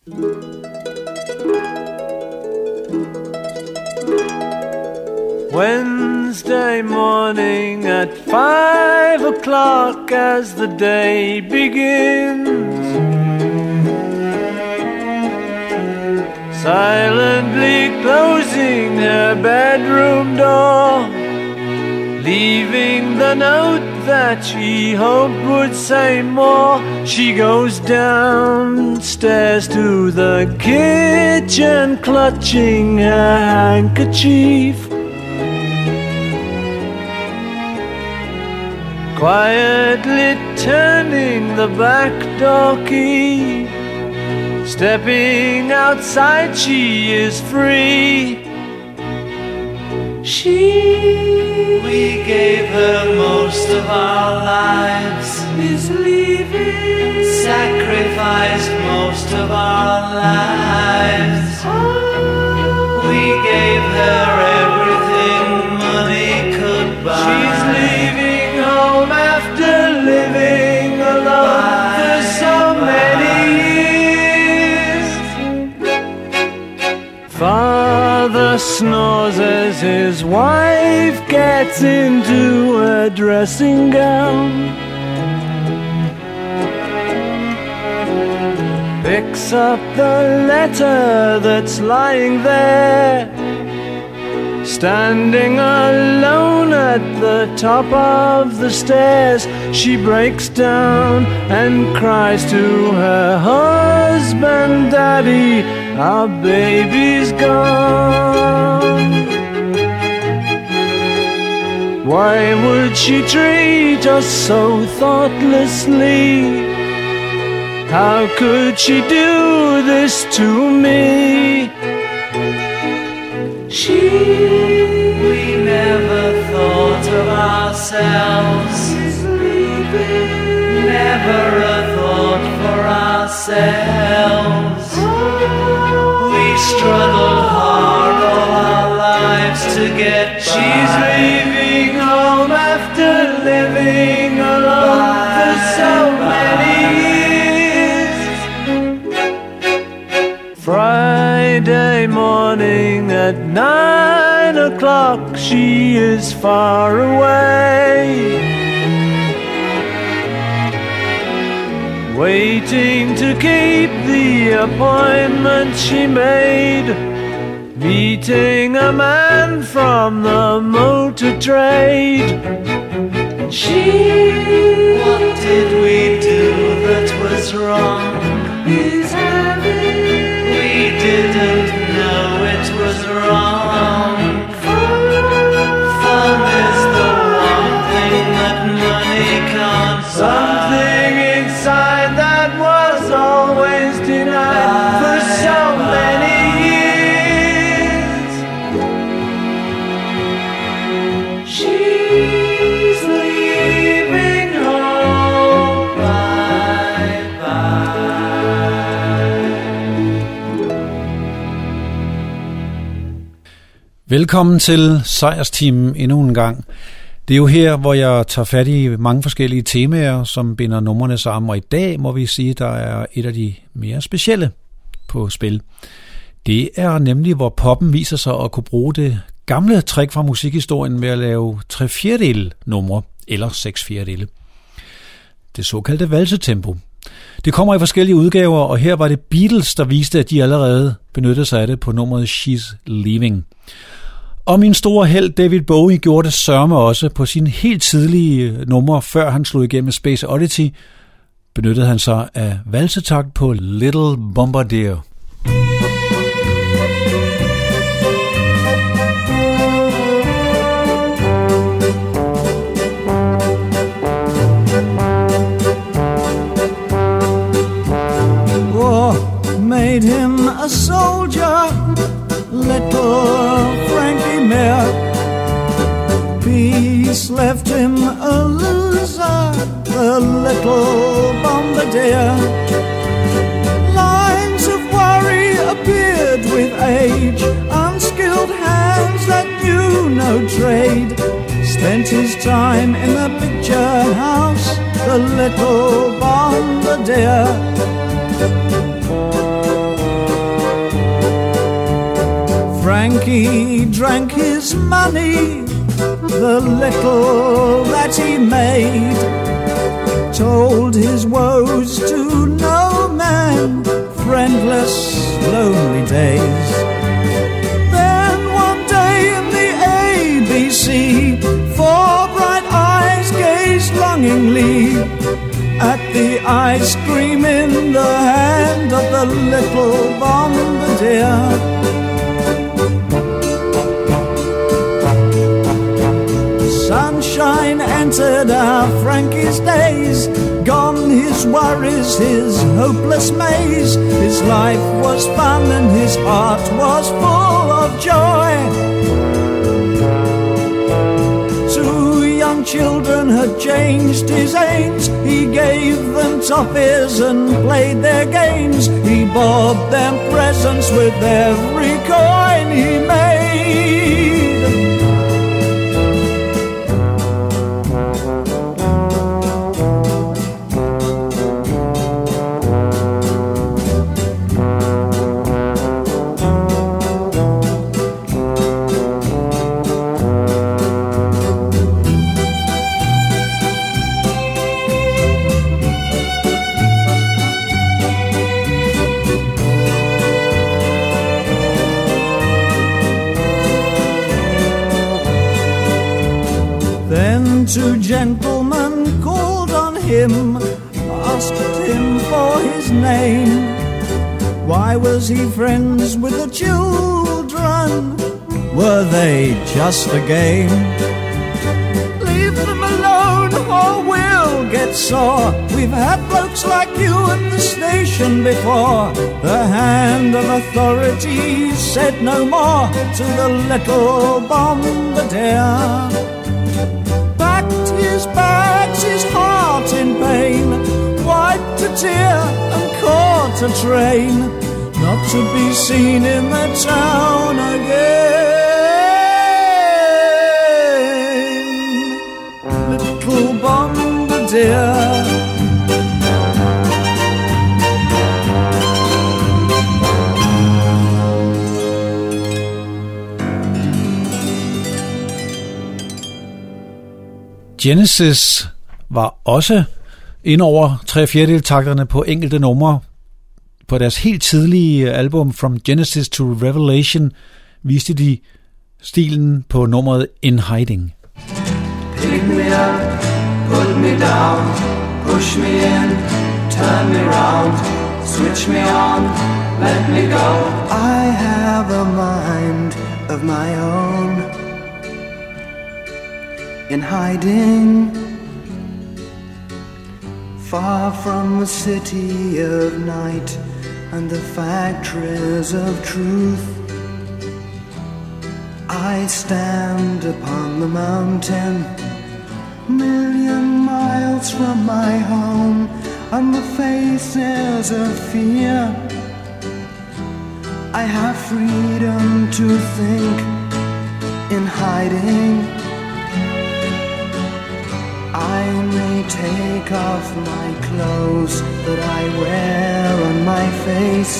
Wednesday morning at 5 o'clock as the day begins, silently closing her bedroom door, leaving the note that she hoped would say more. She goes downstairs to the kitchen, clutching her handkerchief, quietly turning the back door key. Stepping outside, she is free. We gave her most of our lives, is leaving, sacrificed most of our lives. We gave her everything money could buy. She's leaving home after living alone for so many years. Father snores as his wife gets into a dressing gown, picks up the letter that's lying there, standing alone at the top of the stairs. She breaks down and cries to her husband, "Daddy, our baby's gone." Why would she treat us so thoughtlessly? How could she do this to me? We never thought of ourselves, never a thought for ourselves. We struggled hard all our lives to get by. She's leaving home after living alone for so many years. Friday morning at 9 o'clock, she is far away, waiting to keep the appointment she made, meeting a man from the motor trade. What did we do that was wrong? We didn't know it was wrong. Fun is the one thing that money can't buy. Something inside that was always denied for so many years. She's leaving home, bye-bye. Velkommen til Sejrsteamen endnu en gang. Det er jo her, hvor jeg tager fat i mange forskellige temaer, som binder numrene sammen, og i dag må vi sige, at der er et af de mere specielle på spil. Det er nemlig, hvor poppen viser sig at kunne bruge det gamle trick fra musikhistorien med at lave 3/4 numre, eller 6/4. Det såkaldte valsetempo. Det kommer i forskellige udgaver, og her var det Beatles, der viste, at de allerede benyttede sig af det på nummeret She's Leaving. Og min store held David Bowie gjorde det sørme også på sine helt tidlige numre, før han slog igennem Space Oddity, benyttede han sig af valsetakt på Little Bombardier. War made him a soldier, little Frankie Mere. Peace left him a loser, the little bombardier. Lines of worry appeared with age, unskilled hands that knew no trade. Spent his time in the picture house, the little bombardier. Frankie drank his money, the little that he made, told his woes to no man, friendless, lonely days. Then one day in the ABC, four bright eyes gazed longingly at the ice cream in the hand of the little bombardier. Sunshine entered our Frankie's days, gone his worries, his hopeless maze. His life was fun and his heart was full of joy. Two young children had changed his aims. He gave them toffees and played their games. He bought them presents with every coin he made. Two gentlemen called on him, asked him for his name. Why was he friends with the children? Were they just a game? Leave them alone or we'll get sore. We've had blokes like you at the station before. The hand of authority said no more to the little bombardier. His bags, his heart in pain, wiped a tear and caught a train, not to be seen in the town again. Little bombardier. Genesis var også ind over 3/4-takterne på enkelte numre. På deres helt tidlige album From Genesis to Revelation viste de stilen på nummeret In Hiding. Pick me up, put me down, push me in, turn me round, switch me on, let me go. I have a mind of my own. In hiding, far from the city of night and the factories of truth, I stand upon the mountain, million miles from my home, and the faces of fear. I have freedom to think in hiding. I may take off my clothes that I wear on my face.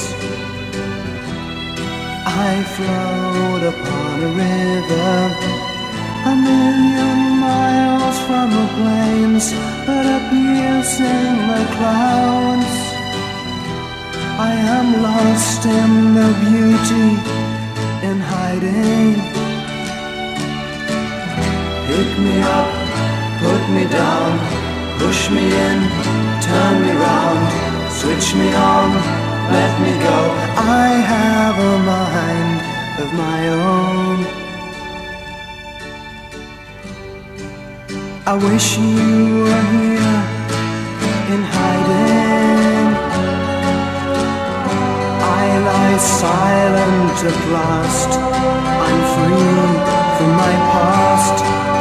I float upon a river, a million miles from the plains that are piercing the clouds. I am lost in the beauty in hiding. Pick me up, put me down, push me in, turn me round, switch me on, let me go. I have a mind of my own. I wish you were here in hiding. I lie silent at last, I'm free from my past.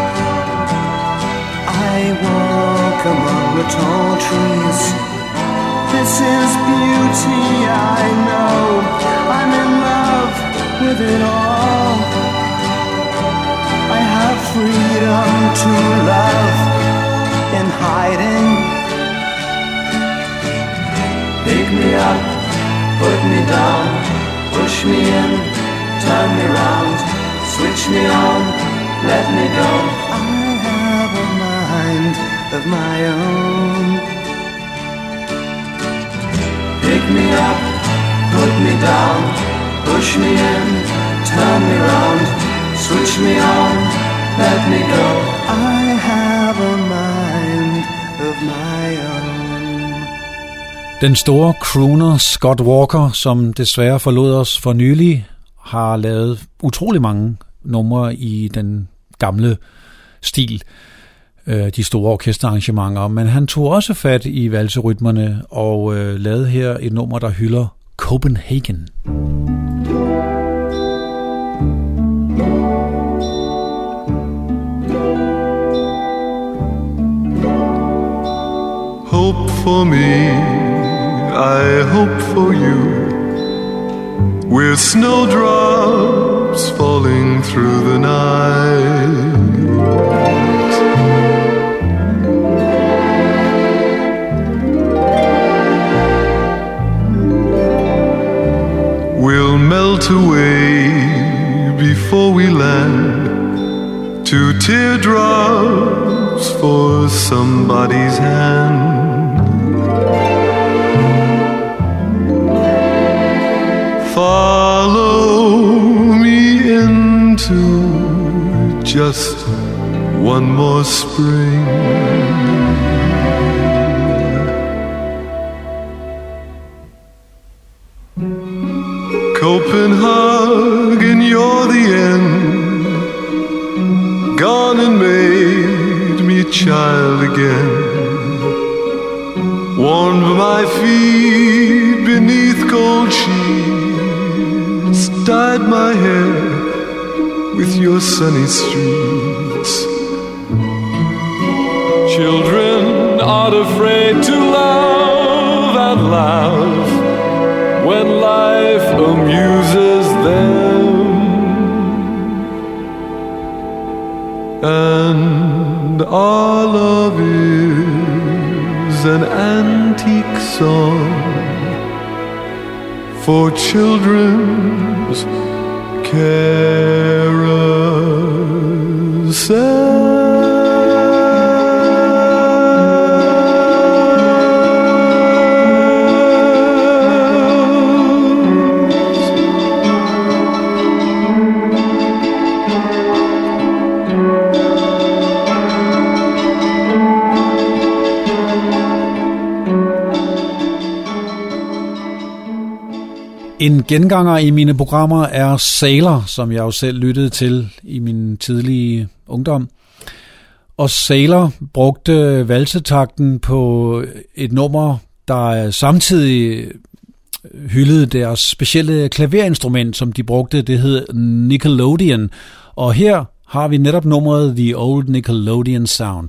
I walk among the tall trees. This is beauty, I know. I'm in love with it all. I have freedom to love in hiding. Pick me up, put me down, push me in, turn me round, switch me on, let me go. I have a mind of my own. Pick me up, put me down, push me in, turn me round, switch me on, let me go. I have a mind of my own. Den store crooner Scott Walker, som desværre forlod os for nylig, har lavet utrolig mange numre i den gamle stil, de store orkesterarrangementer, men han tog også fat i valserytmerne og lavede her et nummer, der hylder Copenhagen. Hope for me, I hope for you, with snowdrops falling through the night. We'll melt away before we land, 2 teardrops for somebody's hand. Follow me into just one more spring. Copenhagen, you're the end, gone and made me child again. Warmed my feet beneath cold sheets, dyed my hair with your sunny streets. Children aren't afraid to love and laugh when life amuses them, and our love is an antique song for children's carousel. En genganger i mine programmer er Sailor, som jeg jo selv lyttede til i min tidlige ungdom. Og Sailor brugte valsetakten på et nummer, der samtidig hyldede deres specielle klaverinstrument, som de brugte. Det hed Nickelodeon. Og her har vi netop nummeret The Old Nickelodeon Sound.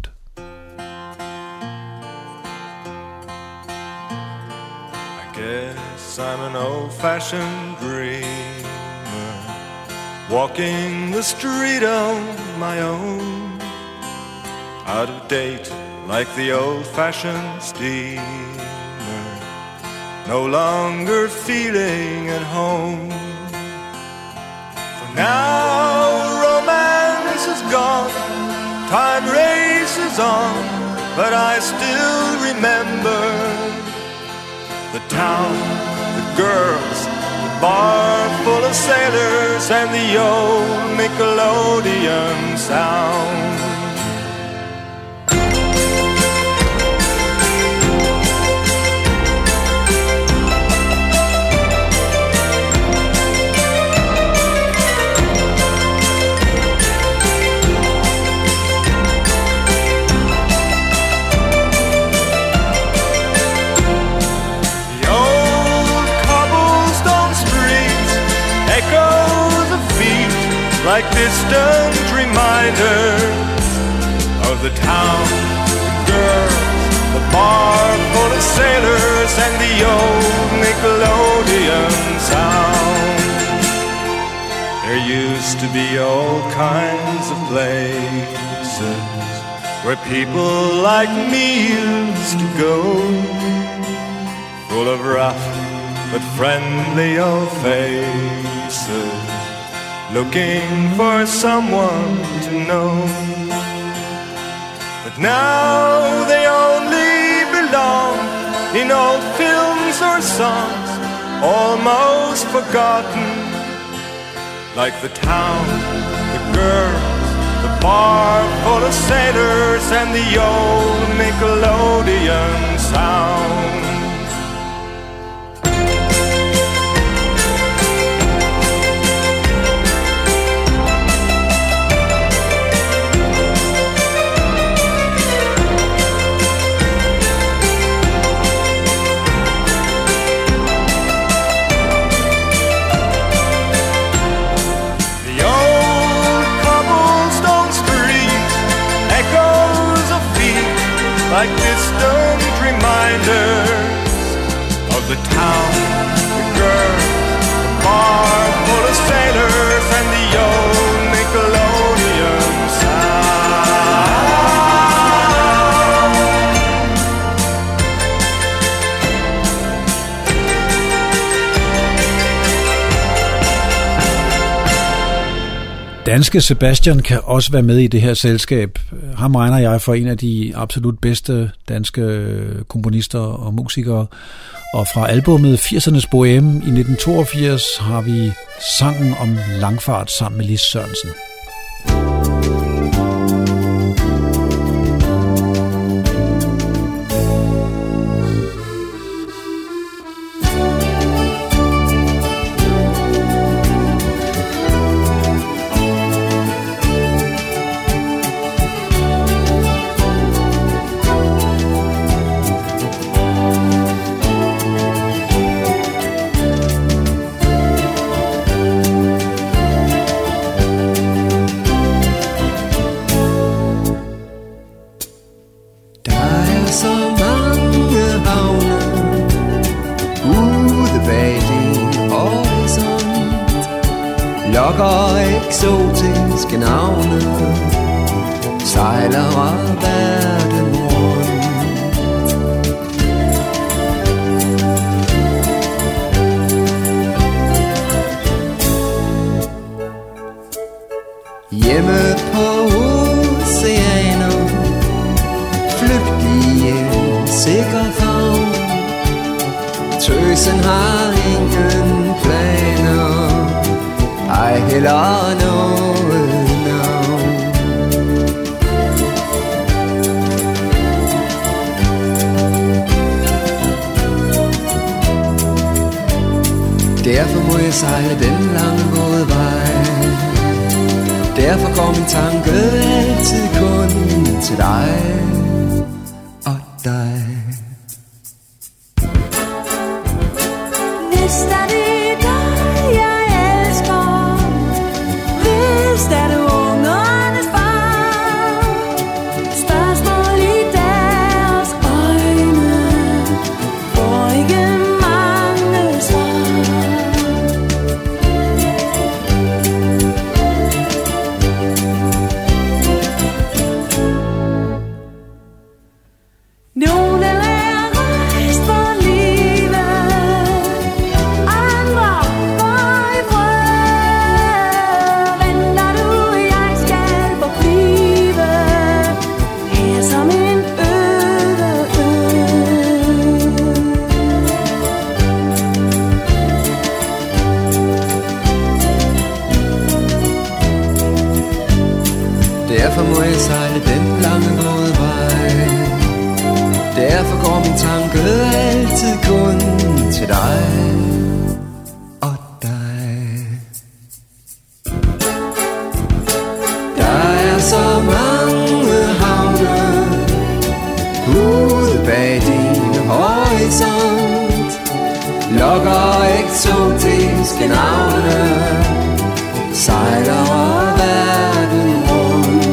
I'm an old-fashioned dreamer, walking the street on my own, out of date like the old-fashioned steamer, no longer feeling at home. For now romance is gone, time races on, but I still remember the town, the girls, the bar full of sailors, and the old Nickelodeon sound. Like distant reminders of the town, the girls, the bar full of sailors, and the old Nickelodeon sound. There used to be all kinds of places where people like me used to go, full of rough but friendly old faces, looking for someone to know. But now they only belong in old films or songs, almost forgotten. Like the town, the girls, the bar full of sailors, and the old Nickelodeon sound. Like distant reminders of the town, the girls, the bar full of sailors, and the old Nickelodeon Danske Sebastian kan også være med i det her selskab. Ham regner jeg for en af de absolut bedste danske komponister og musikere. Og fra albumet 80'ernes Bohème i 1982 har vi sangen om langfart sammen med Lis Sørensen. Lokker eksotiske navne, sejler verden rundt. Hjemme på oceaner, flygt i en sikker favn. Tøsen har ingen planer, ej heller noget navn. Derfor må jeg sejle den lange våde vej. Derfor går min tanke altid kun til dig og dig. Hvis der er det dig, jeg elsker, hvis der er det ungernes far, spørgsmål i deres øjne får ikke mange svar. Nogle er rejst for livet, andre går i fred. Venter du, jeg skal forblive her som en øde ø. Derfor må jeg sejle den lange våde vej. Derfor går min tanke altid kun til dig og dig. Der er så mange havne ude bag din horisont, lokker eksotiske navne, sejler verden rundt.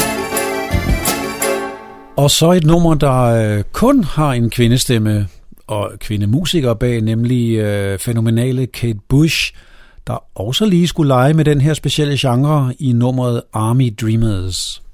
Og så et nummer, der kun har en kvindestemme, og kvindemusikere bag, nemlig fænomenale Kate Bush, der også lige skulle lege med den her specielle genre i nummeret Army Dreamers.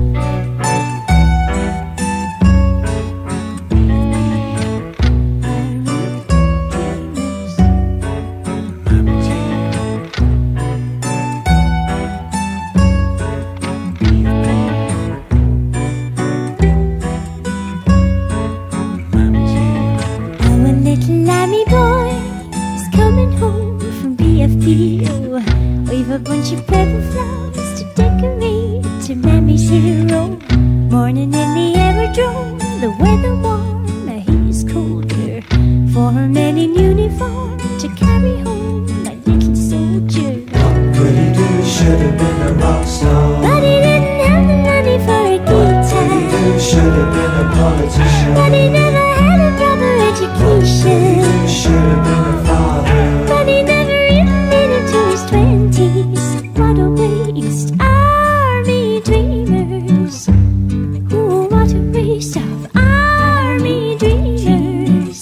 We've a bunch of purple flowers to decorate to Mammy's hero. Morning in the aerodrome, the weather warm, the heat is colder. For a man in uniform to carry home my little soldier. What could he do? Should have been a rock star. But he didn't have the money for a guitar. What could he do? Should have been a politician. But he never had a proper education. What could he do? Should have been a father. But he never even made it to his 20s. What a waste, army dreamers. Ooh, what a waste of army dreamers.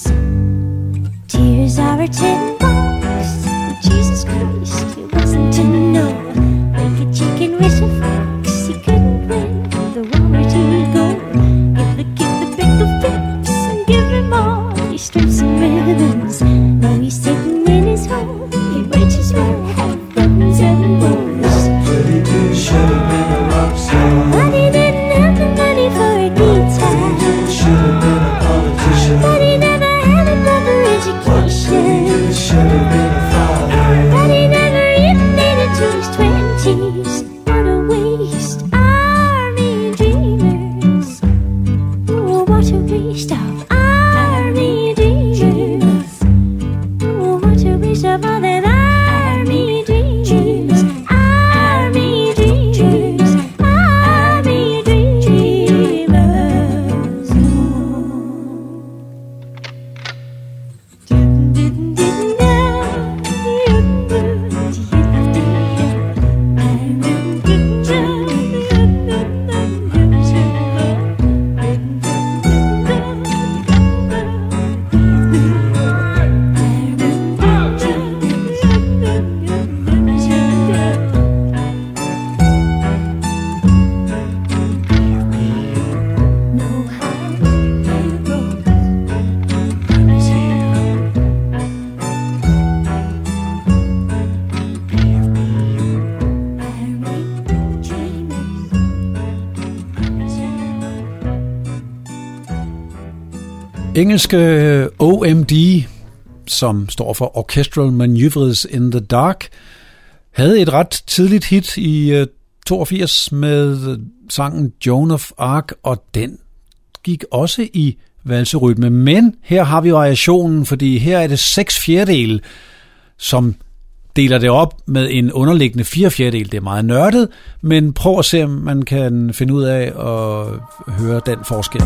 Tears are a $10. Jesus Christ, it wasn't to know. Like a chicken with a fox, he couldn't win the war to go. Give the kid the pickle fix and give him all his strips and ribbons. Now he's sitting in his home, he wages well, have buttons and bows. Could he do? Should have been a rock star. But he didn't have the money for a guitar. Should have been a politician. But he never had a proper What could he do? education. Should have been a father. But he never even made it to his 20s. What a waste, army dreamers. Oh, what a waste of army dreamers. Oh, what a waste of all them army dreamers. Army dreamers. Army dreamers. Engelske OMD, som står for Orchestral Maneuvers in the Dark, havde et ret tidligt hit i 82 med sangen Joan of Arc, og den gik også i valserytme. Men her har vi variationen, fordi her er det 6/4, som deler det op med en underliggende 4/4. Det er meget nørdet, men prøv at se, om man kan finde ud af at høre den forskel.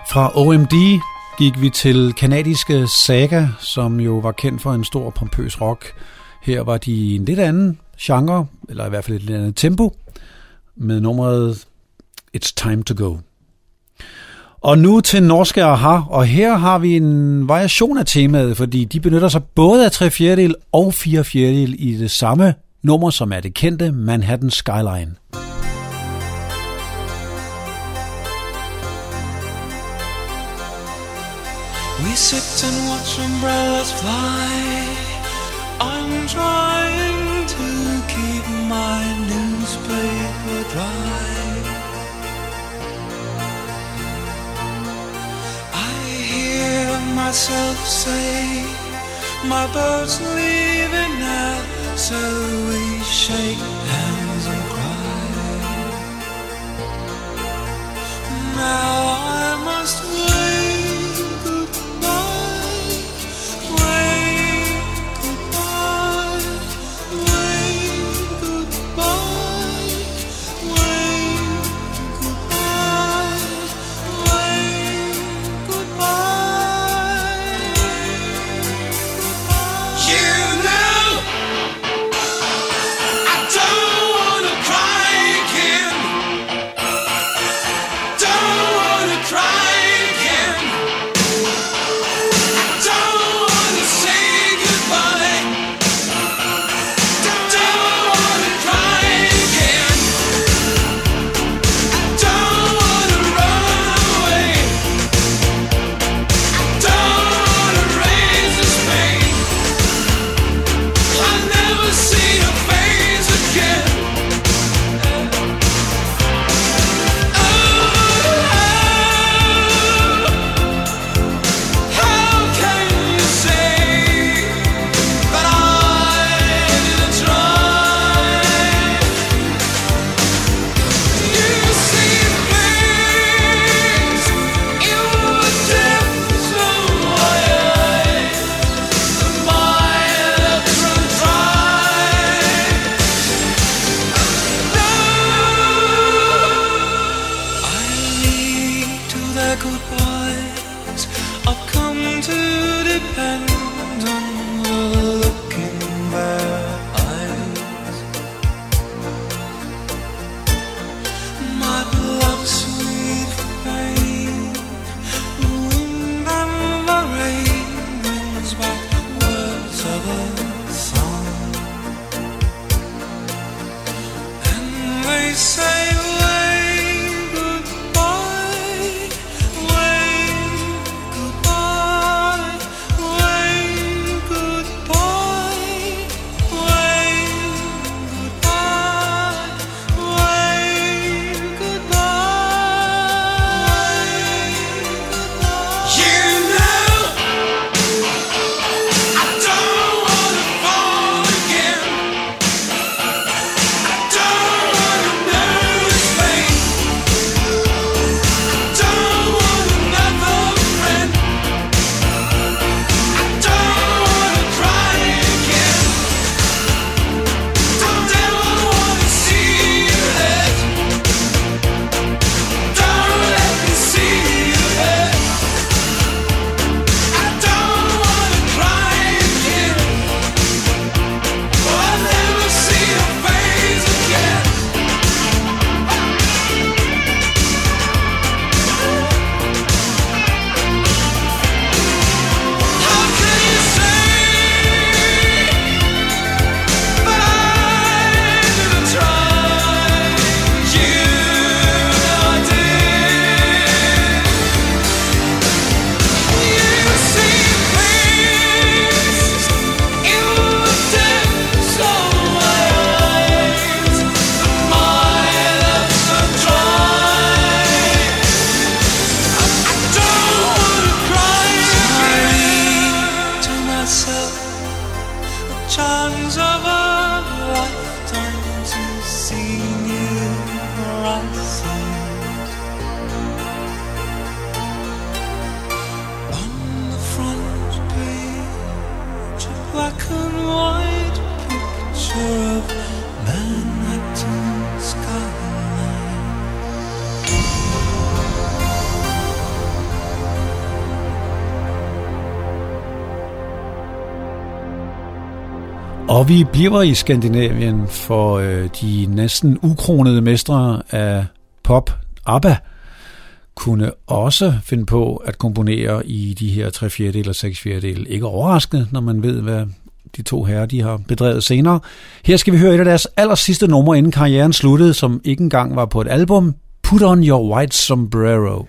Fra OMD gik vi til kanadiske Saga, som jo var kendt for en stor pompøs rock. Her var de i en lidt anden genre, eller i hvert fald et lidt andet tempo, med nummeret It's Time to Go. Og nu til norske Aha, og her har vi en variation af temaet, fordi de benytter sig både af 3/4 og 4/4 i det samme nummer, som er det kendte Manhattan Skyline. We sit and watch umbrellas fly. I'm trying to keep my newspaper dry. I hear myself say, my boat's leaving now, so we shake hands and cry. Now I must wait. Wait, goodbye, wait. Og vi bliver i Skandinavien, for de næsten ukronede mestre af pop, ABBA, kunne også finde på at komponere i de her 3/4 og 6/4. Ikke overraskende, når man ved, hvad de to herrer de har bedrevet senere. Her skal vi høre et af deres aller sidste numre, inden karrieren sluttede, som ikke engang var på et album. Put on your white sombrero.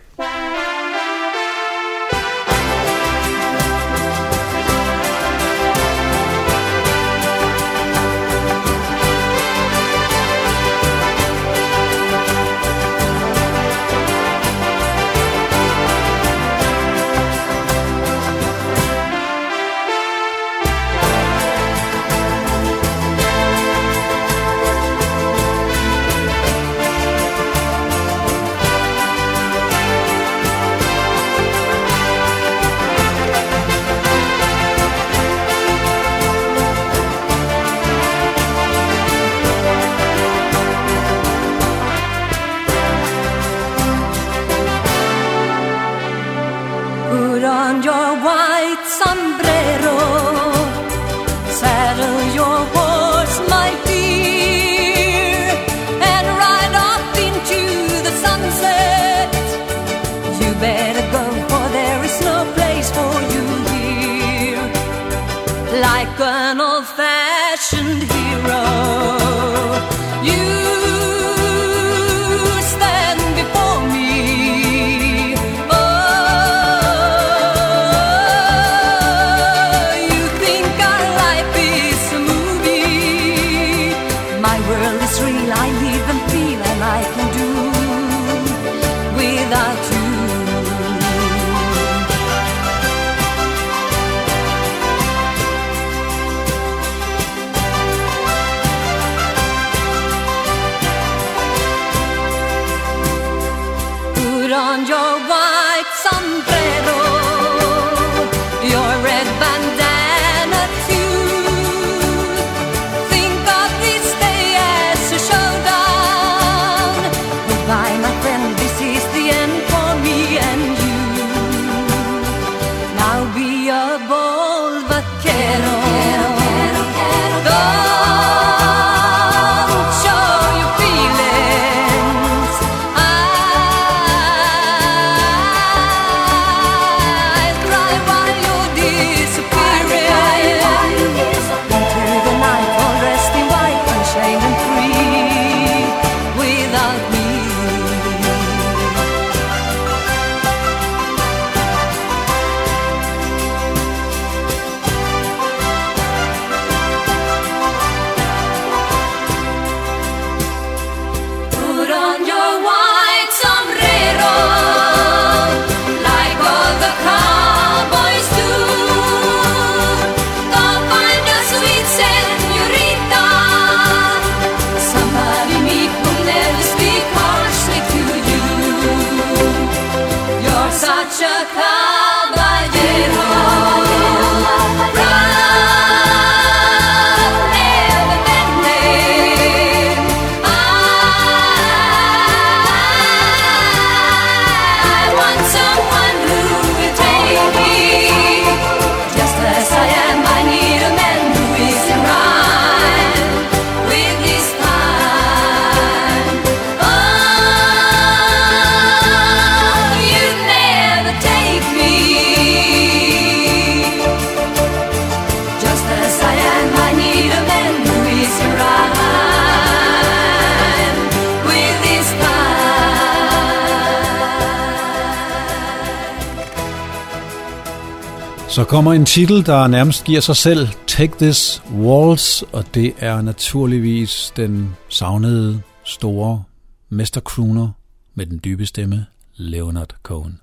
Så kommer en titel, der nærmest giver sig selv, Take This Waltz, og det er naturligvis den savnede, store mestercrooner med den dybe stemme, Leonard Cohen.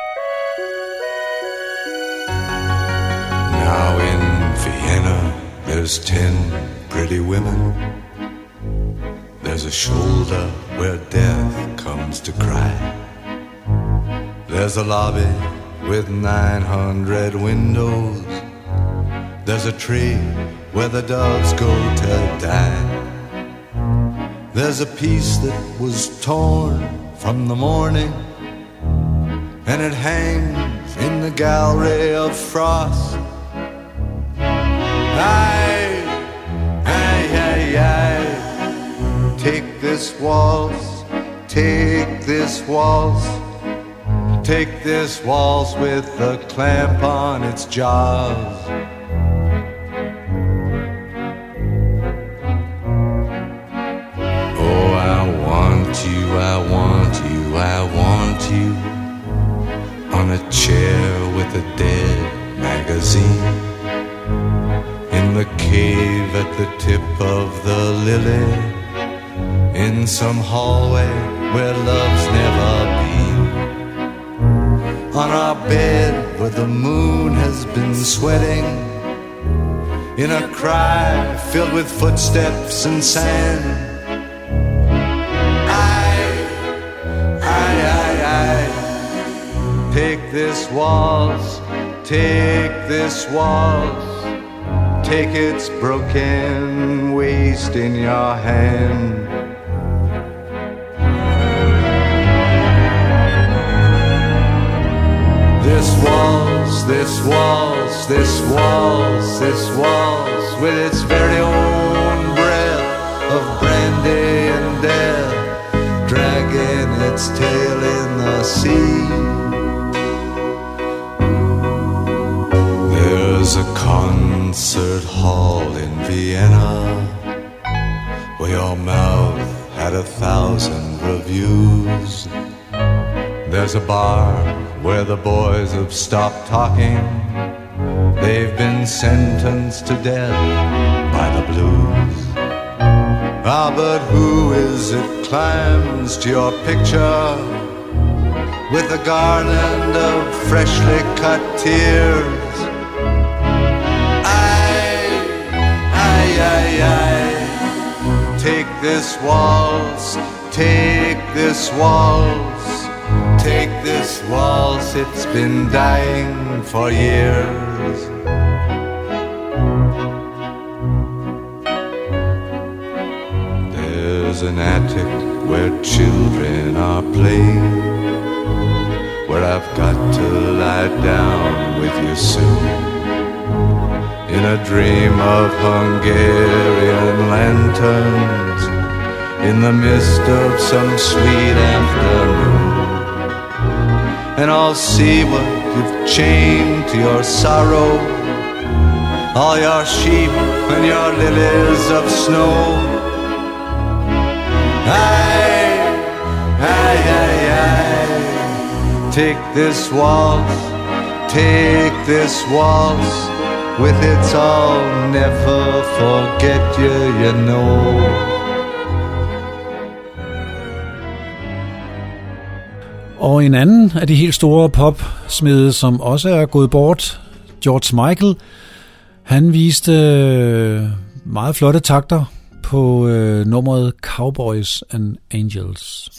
Now in Vienna, there's 10 pretty women. There's a shoulder where death comes to cry. There's a lobby with 900 windows. There's a tree where the doves go to die. There's a piece that was torn from the morning, and it hangs in the gallery of frost. I Take this waltz, take this waltz, take this waltz with a clamp on its jaws. Oh, I want you, I want you, I want you on a chair with a dead magazine, in the cave at the tip of the lily, in some hallway where love's never been, on our bed where the moon has been sweating, in a cry filled with footsteps and sand. Take this waltz, take this waltz, take its broken waist in your hand. This waltz, this waltz, this waltz, this waltz, with its very own breath of brandy and death, dragging its tail in the sea. There's a concert hall in Vienna where your mouth had 1,000 reviews. There's a bar where the boys have stopped talking. They've been sentenced to death by the blues. Ah, but who is it climbs to your picture with a garland of freshly cut tears? Take this waltz, take this waltz, take this waltz, it's been dying for years. There's an attic where children are playing, where I've got to lie down with you soon, in a dream of Hungarian lanterns, in the mist of some sweet afternoon. And I'll see what you've chained to your sorrow, all your sheep and your lilies of snow. Aye, aye, aye, aye. Take this waltz, take this waltz, with its I'll never forget you, you know. Og en anden af de helt store popsmede, som også er gået bort, George Michael, han viste meget flotte takter på nummeret Cowboys and Angels.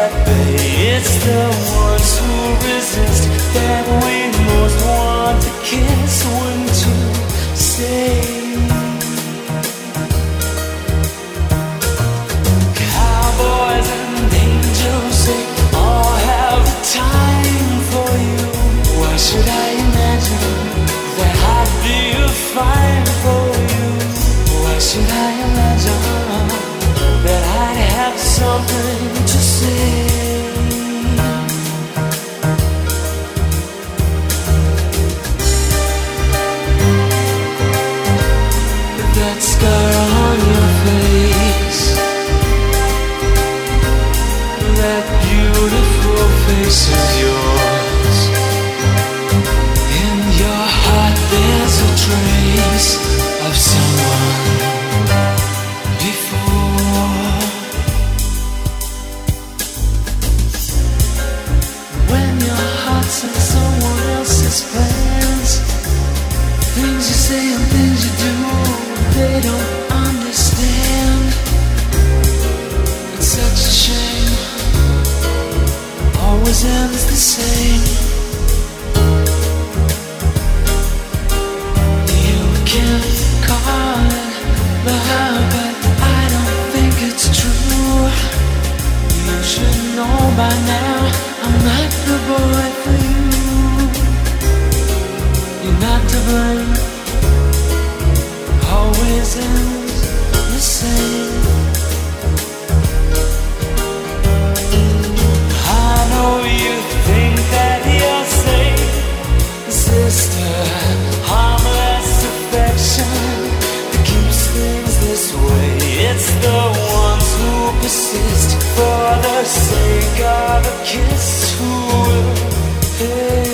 It's the ones who resist that we most want to kill. say and things you do, they don't understand. It's such a shame, always ends the same. You can call it love, but I don't think it's true. You should know by now I'm not the boy for you. You're not to blame, always ends the same. I know you think that you're safe, sister, harmless affection that keeps things this way. It's the ones who persist for the sake of a kiss who will pay.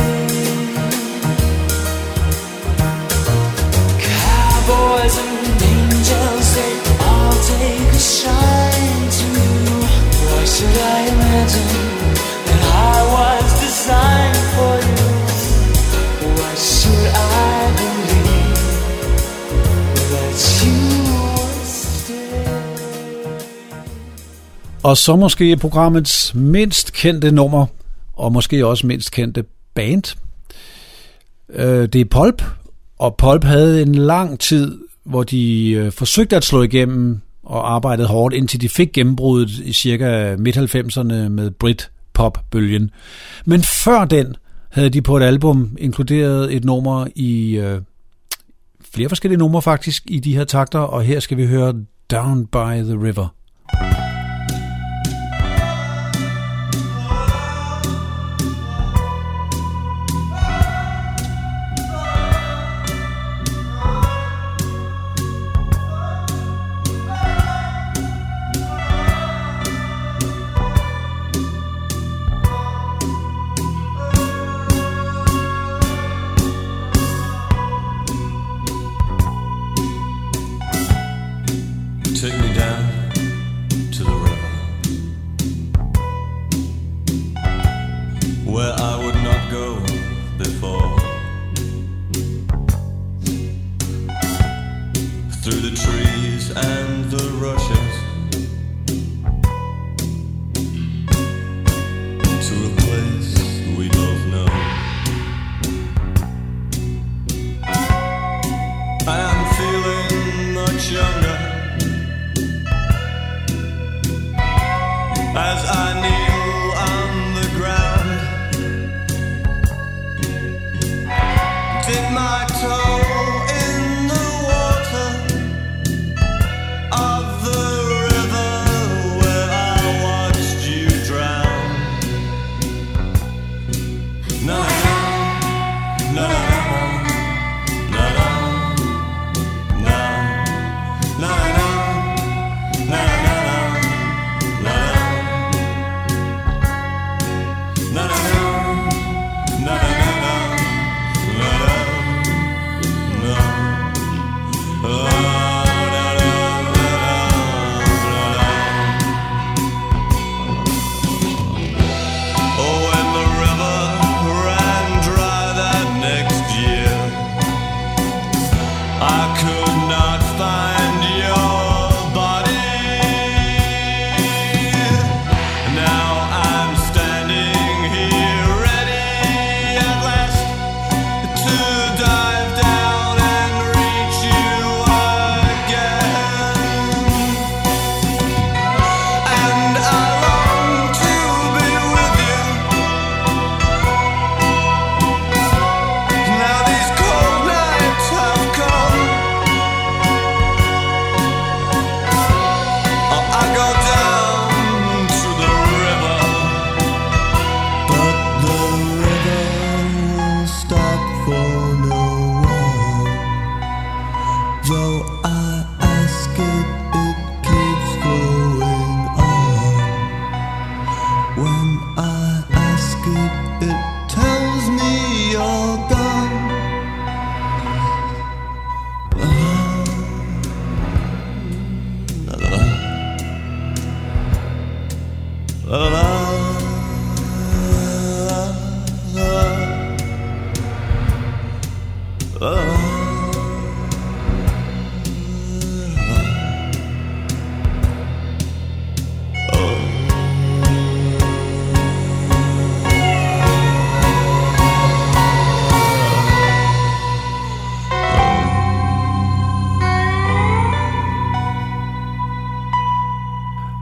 Cowboys and angels, they all take a shine to you. Why should I imagine that I was designed for you? Why should I believe that you would stay? Og så måske programmets mindst kendte nummer, og måske også mindst kendte band. Det er Pulp, og Pulp havde en lang tid, hvor de forsøgte at slå igennem og arbejdede hårdt, indtil de fik gennembruddet i cirka midt-90'erne med Britpop-bølgen. Men før den havde de på et album inkluderet et nummer i flere forskellige numre faktisk i de her takter, og her skal vi høre Down by the River. Take me down to the river, where I would not go before. Through the trees and the rushes, to a place we both know. I am feeling much younger as I kneel on the ground. Dip my toe in the water of the river where I watched you drown. Na na na na na na na na na na.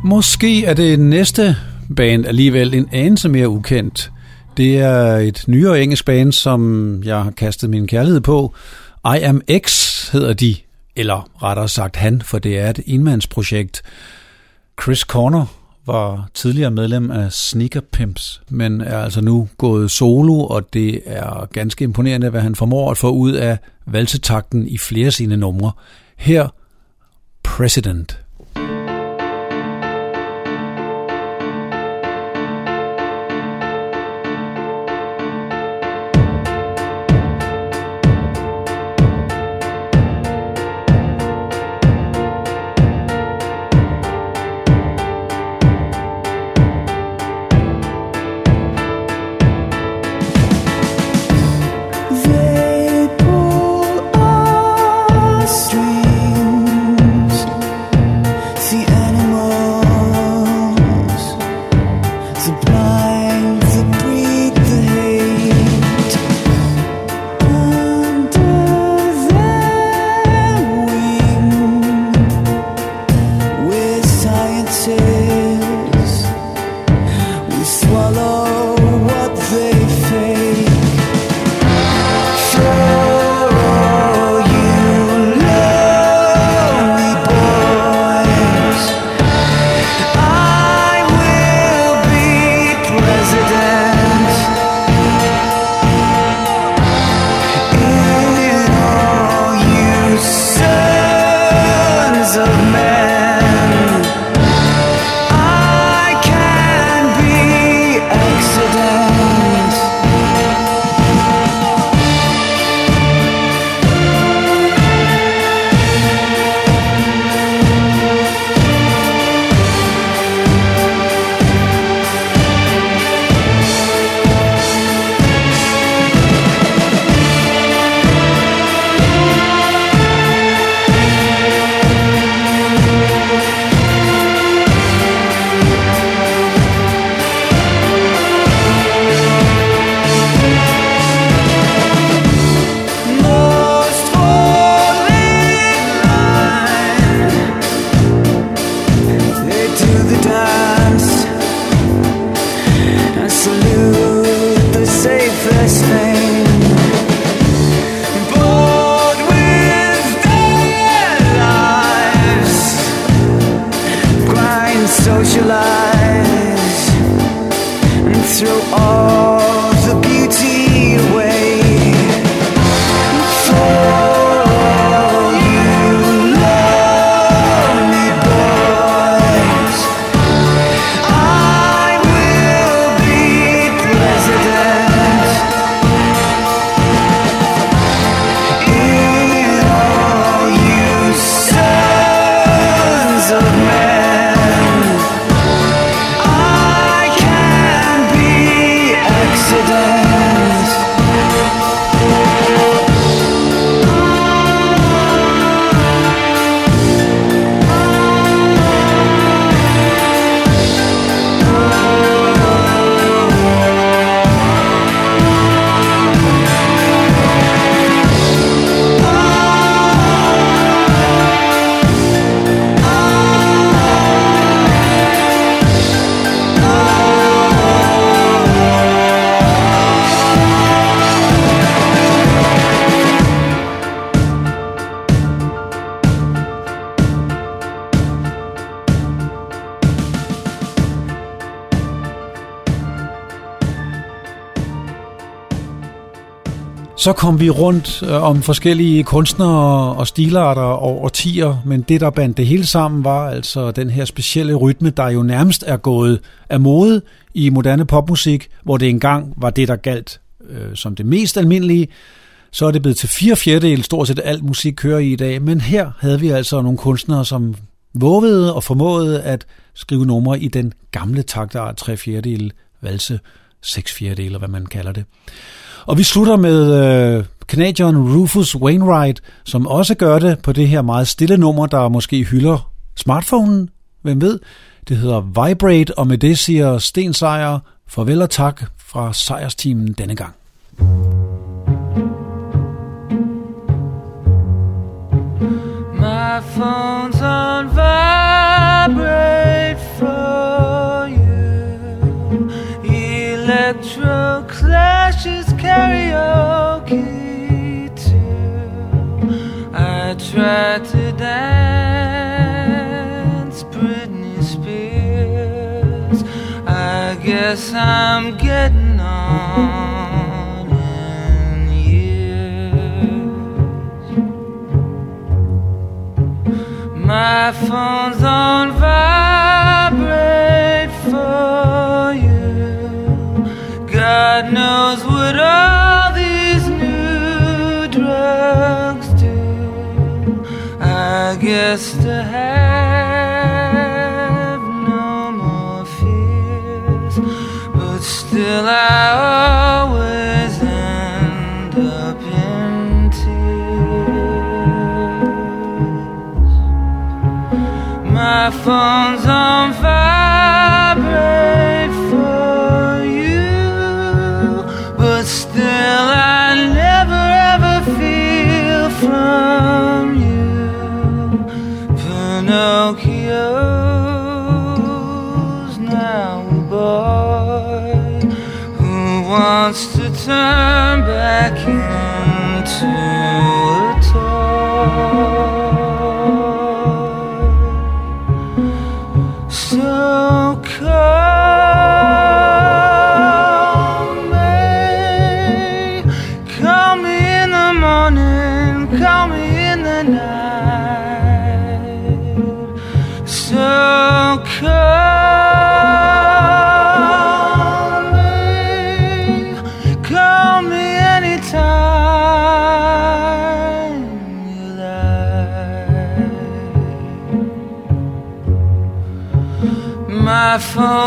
Måske er det næste band alligevel en anelse mere ukendt. Det er et nyere engelsk band, som jeg har kastet min kærlighed på. I Am X hedder de, eller rettere sagt han, for det er et enmandsprojekt. Chris Corner var tidligere medlem af Sneaker Pimps, men er altså nu gået solo, og det er ganske imponerende, hvad han formår at få ud af valsetakten i flere af sine numre. Her President. Så kom vi rundt om forskellige kunstnere og stilarter og årtier, men det, der bandt det hele sammen, var altså den her specielle rytme, der jo nærmest er gået af mode i moderne popmusik, hvor det engang var det, der galt som det mest almindelige. Så er det blevet til 4/4 stort set alt musik kører i dag, men her havde vi altså nogle kunstnere, som vågede og formåede at skrive numre i den gamle taktart 3/4, valse 6/4, hvad man kalder det. Og vi slutter med canadieren Rufus Wainwright, som også gør det på det her meget stille nummer, der måske hylder smartphonen. Hvem ved? Det hedder Vibrate, og med det siger Sten Sejer farvel og tak fra Sejersteamen denne gang. My phone's on vibrate Clash's karaoke too. I tried to dance Britney Spears. I guess I'm getting on in years. My phone's on vibrate for you. God knows what all these new drugs do. I guess to have no more fears, but still I always end up in tears. My phone's on vibrate for you, but still I never ever feel from you. Pinocchio's now a boy who wants to turn back into a toy. So call me in the morning, call me in the night. So call me anytime you like. My phone